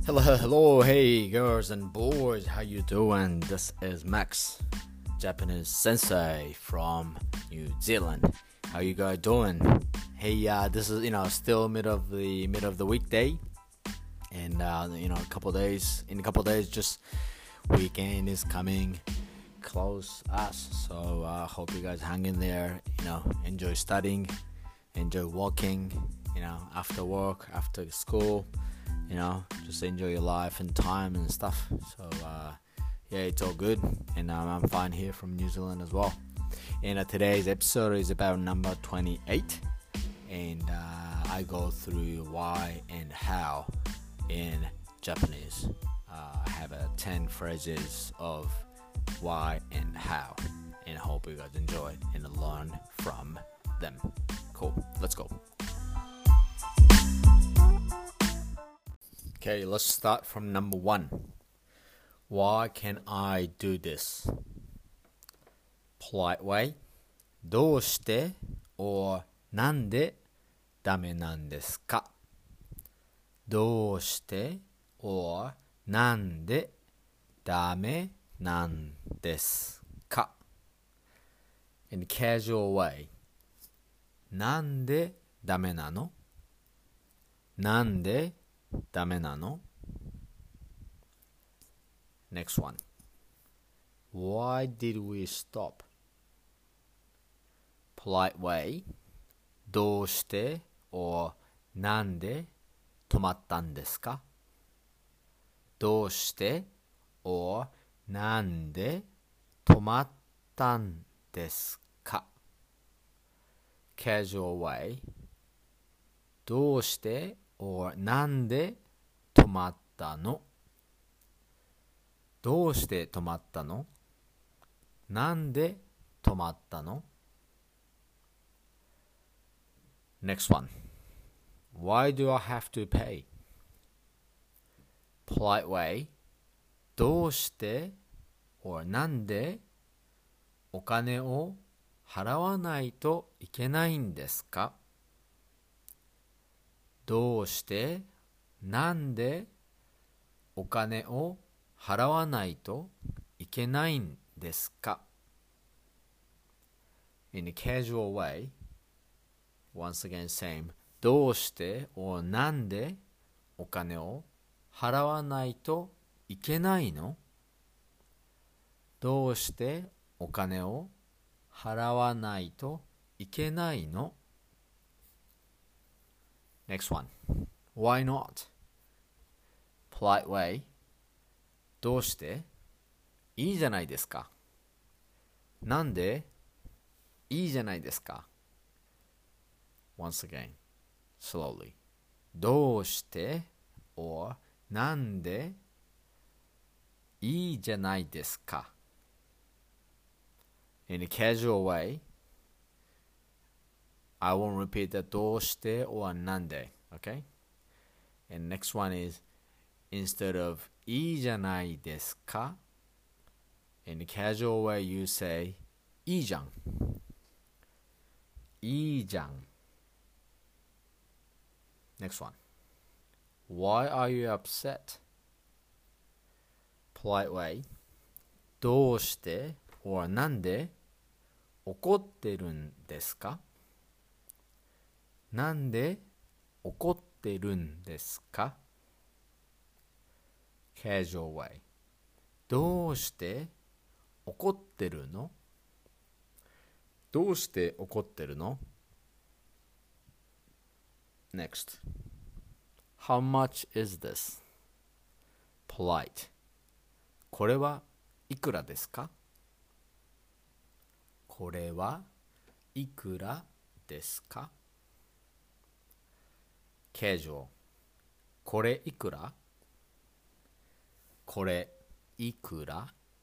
Hello, hey girls and boys, how you doing? This is Max, Japanese sensei from New Zealand. How you guys doing? Hey, this is still mid of the weekday, and in a couple days, just weekend is coming close us. So hope you guys hang in there. Enjoy studying, enjoy walking. After work, after school. Just enjoy your life and time and stuff. So it's all good, and I'm fine here from New Zealand as well. And today's episode is about number 28, and I go through why and how in Japanese. I have 10 phrases of why and how, and I hope you guys enjoy and learn from them. Cool, let's go. Okay, let's start from number 1. Why can I do this? Polite way. どうして or なんでダメなんですか? どうして or なんでダメなんですか? In casual way. なんでダメなの? なんでダメなの? Next one. Why did we stop? Polite way. どうして or なんで止まったんですか? どうして or なんで止まったんですか? Casual way. どうして or なんで止まったの? どうして止まったの? なんで止まったの? Next one. Why do I have to pay? Polite way. どうして or なんでお金を払わないといけないんですか? どうしてなんでお金を払わないといけないんですか? In a casual way, once again same. どうして or なんでお金を払わないといけないの? どうしてお金を払わないといけないの? Next one. Why not? Polite way. どうしていいじゃないですか. なんでいいじゃないですか. Once again, slowly. どうして or なんでいいじゃないですか. In a casual way, I won't repeat the どうして or なんで. Okay? And next one is instead of いいじゃないですか, in a casual way you say いいじゃん. いいじゃん. Next one. Why are you upset? Polite way. どうして or なんで怒ってるんですか? なんで怒ってるんですか? Casual way. どうして怒ってるの? どうして怒ってるの? Next. How much is this? Polite. これはいくらですか? これはいくらですか? Casual. これいくら? これいくら?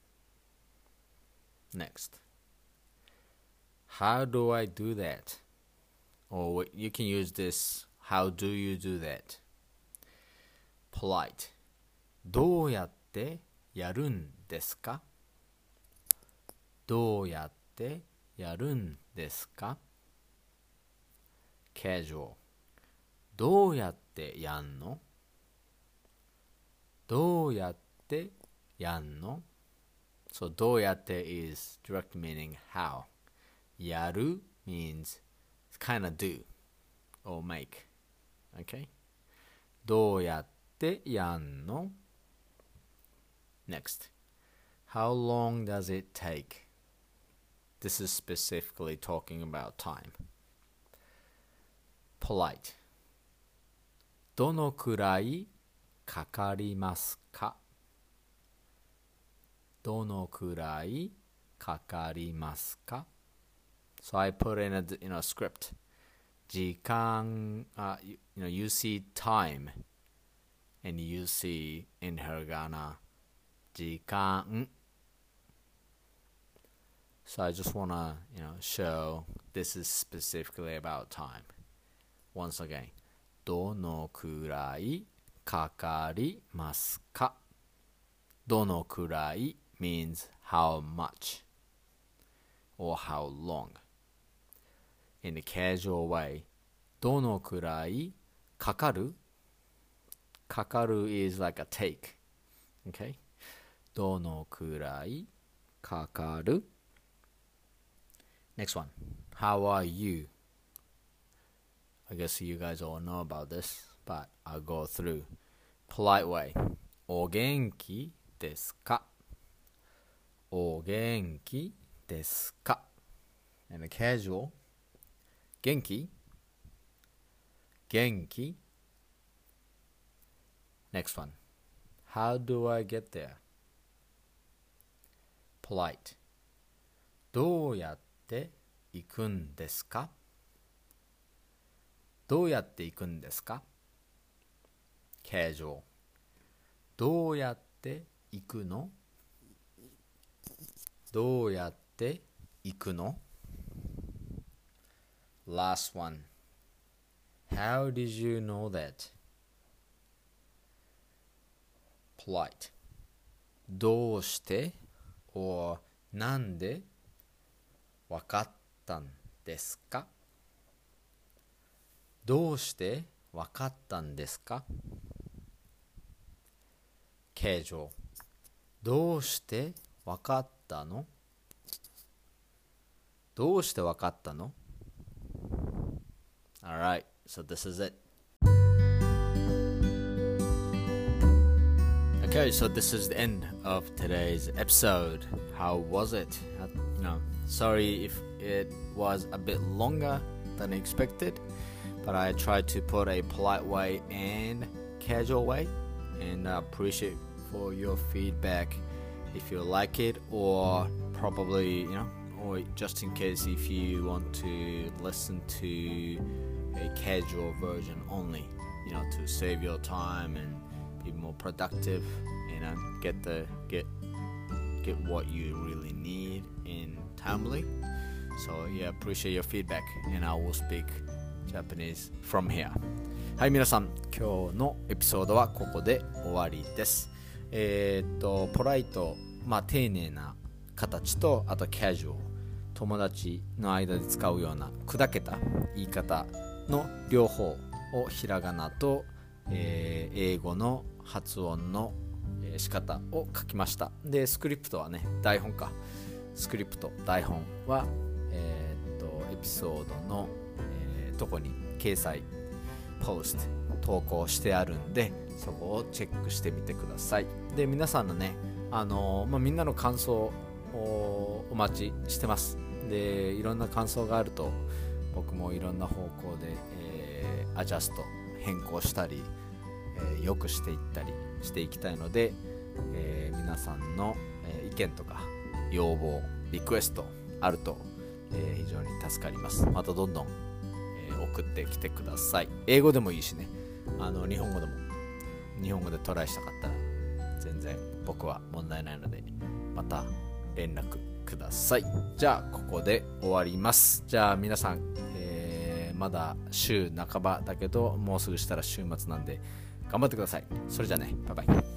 Next. How do I do that? Or you can use this. How do you do that? Polite. どうやってやるんですか? どうやってやるんですか? Casual. どうやってやんの? どうやってやんの？ So どうやって is direct meaning how. やる means kind of do or make. Okay? どうやってやんの？ Next. How long does it take? This is specifically talking about time. Polite. どのくらいかかりますか？どのくらいかかりますか？ So I put in a script. 時間、you see time and you see in hiragana 時間. So I just want to, show this is specifically about time. Once again, どのくらいかかりますか？どのくらい means how much or how long. In a casual way, どのくらいかかる？かかる is like a take. Okay? どのくらいかかる？ Next one. How are you? I guess you guys all know about this, but I'll go through. Polite way. お元気ですか？お元気ですか？ And a casual. 元気？元気？ Next one. How do I get there? Polite. どうやって行くんですか？どうやって行くんですか？ Casual. どうやって行くの？どうやって行くの？ Last one. How did you know that? Polite. どうして or なんでわかったんですか？どうしてわかったんですか？ Casual. どうしてわかったの？どうしてわかったの？ Alright, so this is it. Okay, so this is the end of today's episode. How was it? Sorry if it was a bit longer than expected, but I tried to put a polite way and casual way, and I appreciate for your feedback if you like it, or probably, or just in case if you want to listen to a casual version only, to save your time and be more productive, get what you really need in timely. So yeah, appreciate your feedback, and I will speak Japanese from here. はい、皆さん、今日のエピソードはここで終わりです。ポライト、丁寧な形と、あとキャジュアル、友達の間で使うような砕けた言い方の両方をひらがなと、英語の発音の仕方を書きました。で、スクリプトはね、台本か。スクリプト、台本は、エピソードの、とこに掲載、ポスト、投稿してあるんで、そこをチェックしてみてください。で、皆さんのね、みんなの感想をお待ちしてます。で、いろんな感想があると、僕もいろんな方向で、アジャスト、変更したり、良くしていったりしていきたいので、皆さんの、意見とか要望、リクエストあると、非常に助かります。またどんどん、送ってきてください。英語でもいいしね、日本語でも、日本語でトライしたかったら全然僕は問題ないので、また連絡ください。じゃあここで終わります。じゃあ皆さん、まだ週半ばだけど、もうすぐしたら週末なんで頑張ってください。それじゃあね、バイバイ。